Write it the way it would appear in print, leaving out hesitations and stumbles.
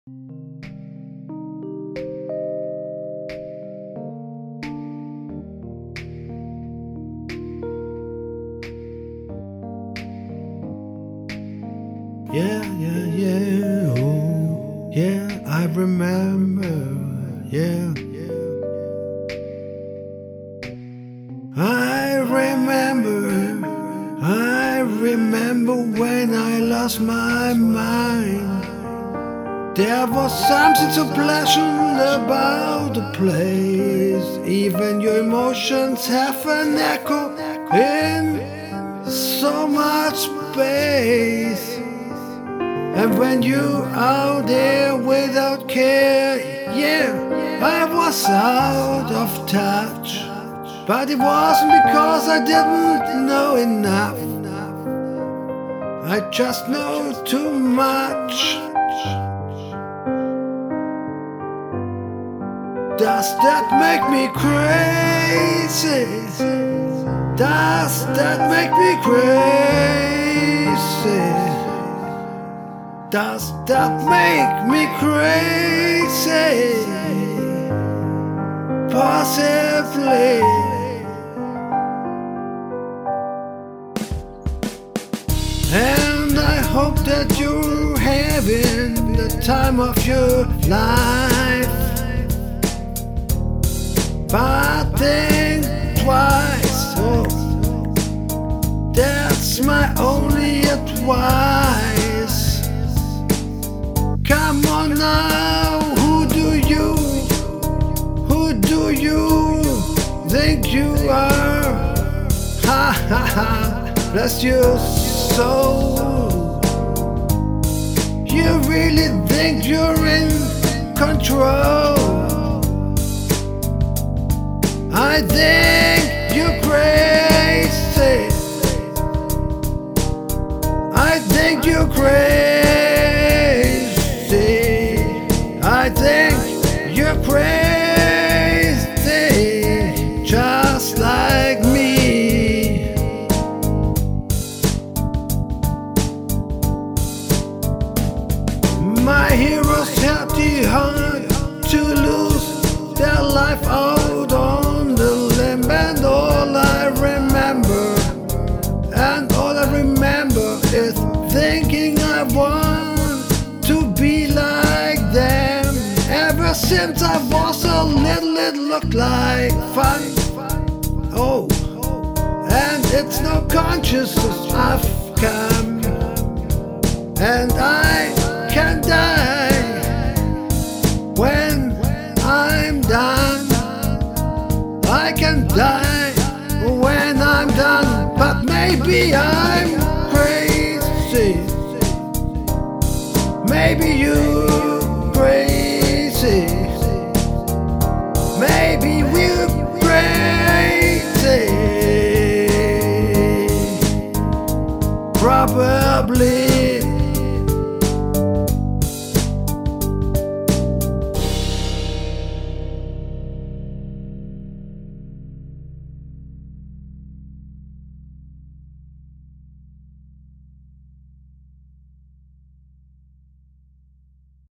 Yeah, yeah, yeah, oh, yeah, I remember, yeah. I remember when I lost my mind. There was something so pleasant about the place. Even your emotions have an echo in so much space. And when you out there without care, yeah, I was out of touch. But it wasn't because I didn't know enough. I just know too much. Does that make me crazy? Does that make me crazy? Does that make me crazy? Possibly. And I hope that you're having the time of your life. But think twice, oh, that's my only advice. Come on now, who do you think you are? Ha ha ha, bless your soul. You really think you're in control? I think you're crazy. I think you're crazy. I think you're crazy, just like me. My heroes had the heart to lose their life out on the limb, and all I remember is thinking I want to be like them. Ever since I was a little, it looked like fun. Oh, and it's no consciousness I've come, and I can die.